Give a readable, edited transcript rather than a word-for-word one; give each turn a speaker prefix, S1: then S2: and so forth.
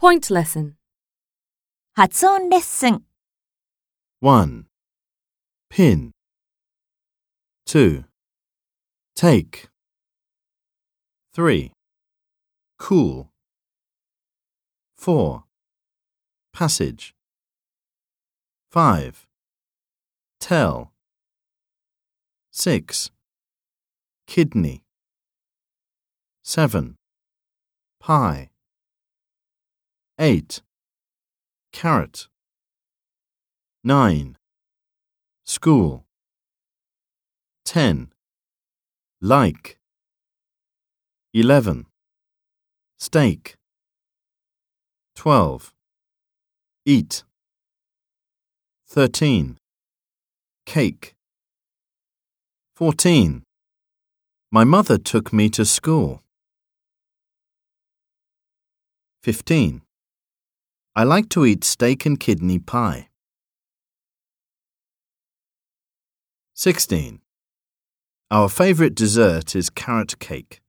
S1: Point lesson.
S2: 発音レッスン。
S3: 1. Pin. 2. Take. 3. Cool. 4. Passage. 5. Tell. 6. Kidney. 7. Pie. 8. Carrot. 9. School. 10. Like. 11. Steak. 12. Eat. 13. Cake. 14. My mother took me to school. 15. I like to eat steak and kidney pie. 16. Our favourite dessert is carrot cake.